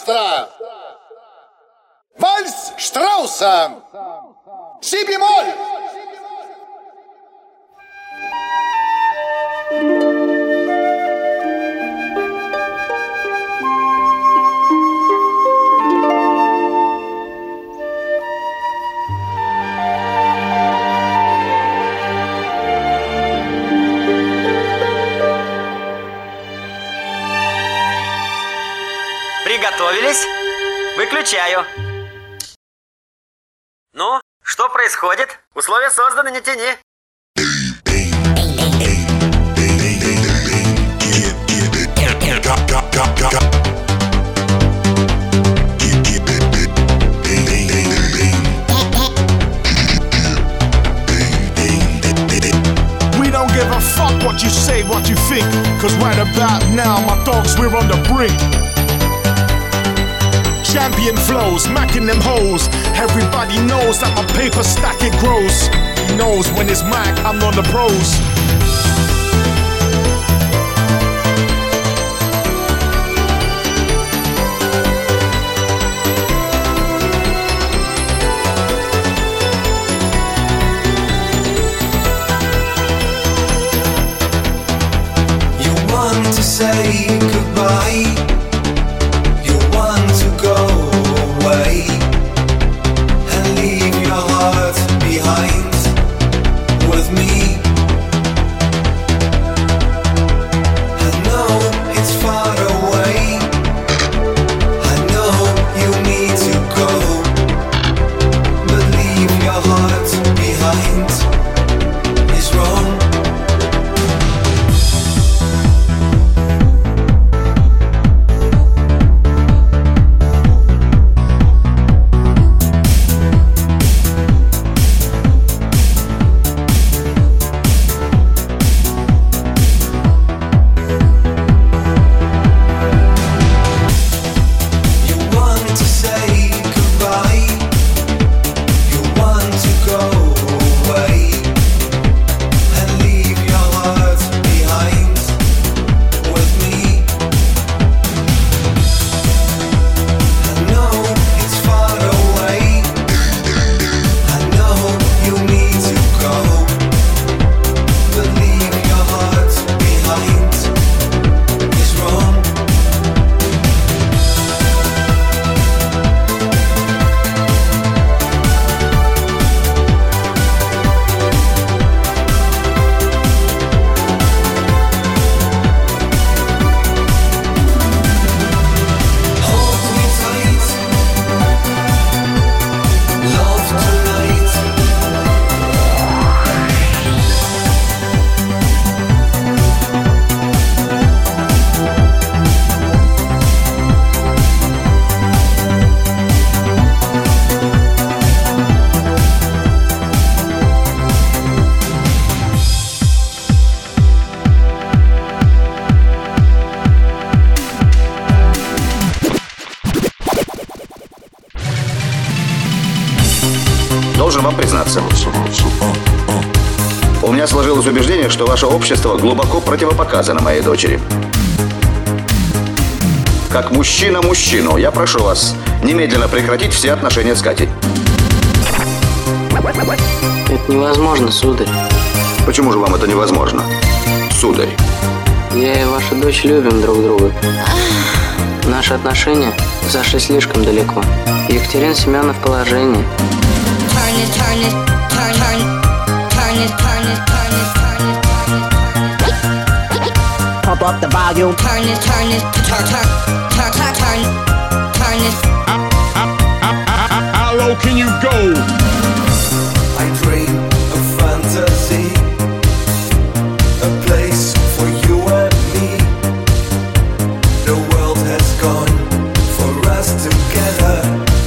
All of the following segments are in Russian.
маэстро! Вальс Штрауса! Си бемоль! Приготовились? Выключаю. Ну, что происходит? Условия созданы, не тяни. We don't give a fuck what you say, what you think. Cause right about now, my dogs, we're on the brink. Champion flows, macking them hoes. Everybody knows that my paper stack it grows. He knows when it's Mac, I'm on the pros. You want to say goodbye. And leave your heart behind with me. I know it's far away. I know you need to go, but leave your heart behind is wrong. Должен вам признаться. У меня сложилось убеждение, что ваше общество глубоко противопоказано моей дочери. Как мужчина мужчину, я прошу вас немедленно прекратить все отношения с Катей. Это невозможно, сударь. Почему же вам это невозможно, сударь? Я и ваша дочь любим друг друга. Наши отношения зашли слишком далеко. Екатерина Семеновна в положении. Pump up the volume. Turn it. How low can you go? I dream of fantasy, a place for you and me. The world has gone for us together.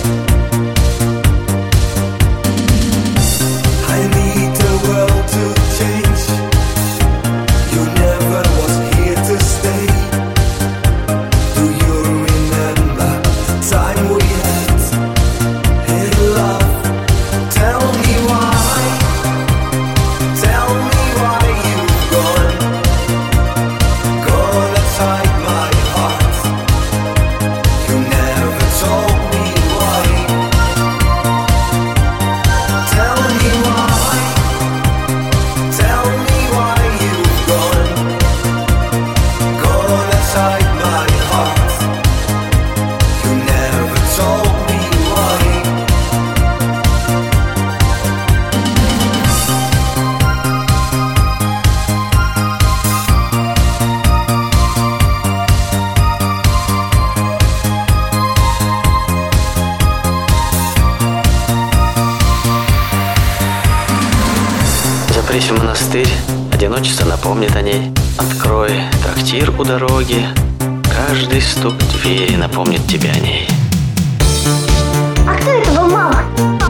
I need the world to change. You never was here to stay. Do you remember the time we had in love? Tell Соберись в монастырь, одиночество напомнит о ней. Открой трактир у дороги, каждый стук двери напомнит тебе о ней. А кто это был, мама?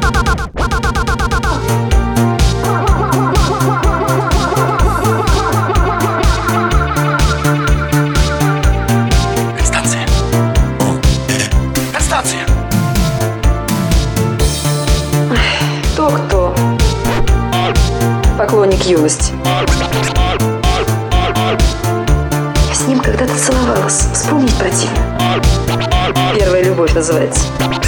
Констанция. Констанция. Кто? Поклонник юности. Я с ним когда-то целовалась. Вспомнить противно. Первая любовь называется.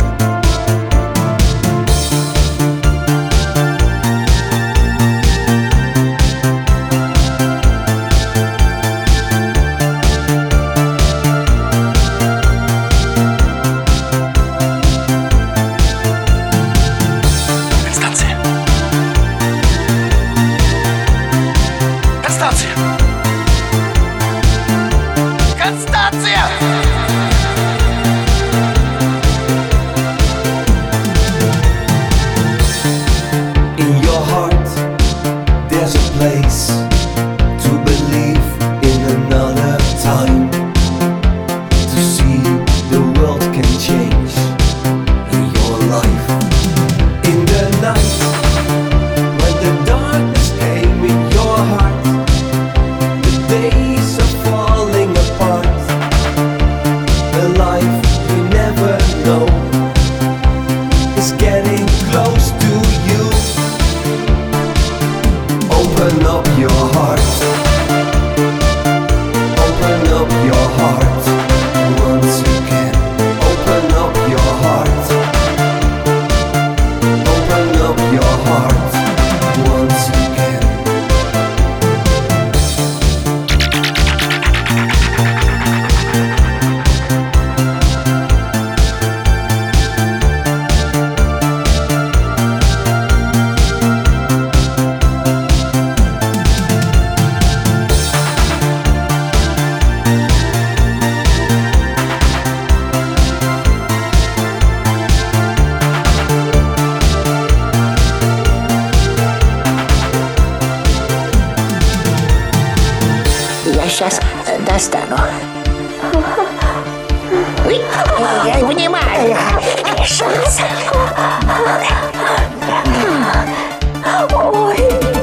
Сейчас достану. Ой, я понимаю. Сейчас. Ой.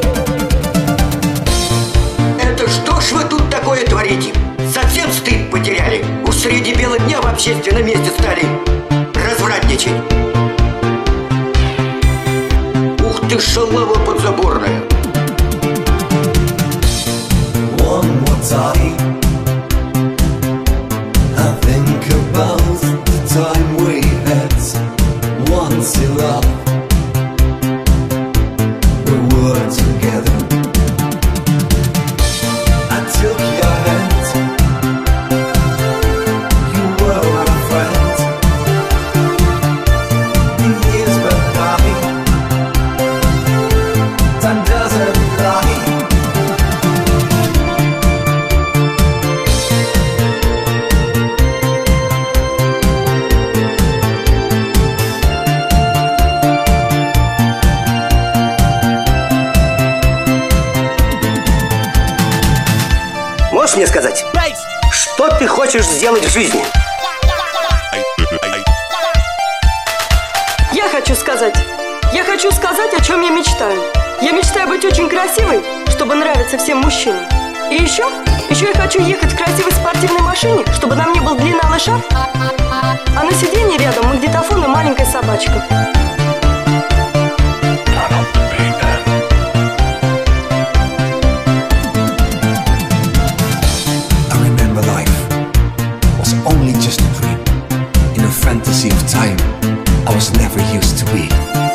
Это что ж вы тут такое творите? Совсем стыд потеряли? Уж среди бела дня в общественном месте стали развратничать. Ух ты, шалава подзаборная. One more time, I think about the time we had once in love. We were together. I took your hand. You were my friend. The years went by. Time doesn't lie. Можешь мне сказать, что ты хочешь сделать в жизни? Я хочу сказать, о чем я мечтаю. Я мечтаю быть очень красивой, чтобы нравиться всем мужчинам. И еще я хочу ехать в красивой спортивной машине, чтобы на мне был длинный шарф, а на сиденье рядом магнитофон и маленькая собачка. Only just a dream in a fantasy of time I was never used to be.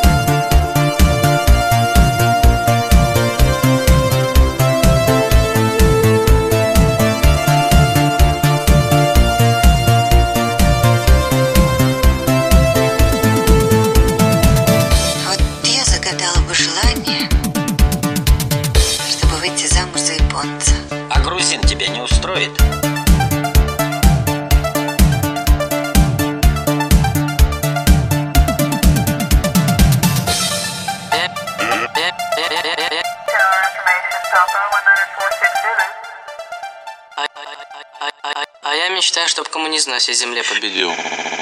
Вот я загадала бы желание, чтобы выйти замуж за японца. А грузин тебя не устроит? А я мечтаю, чтобы коммунизм на всей земле победил.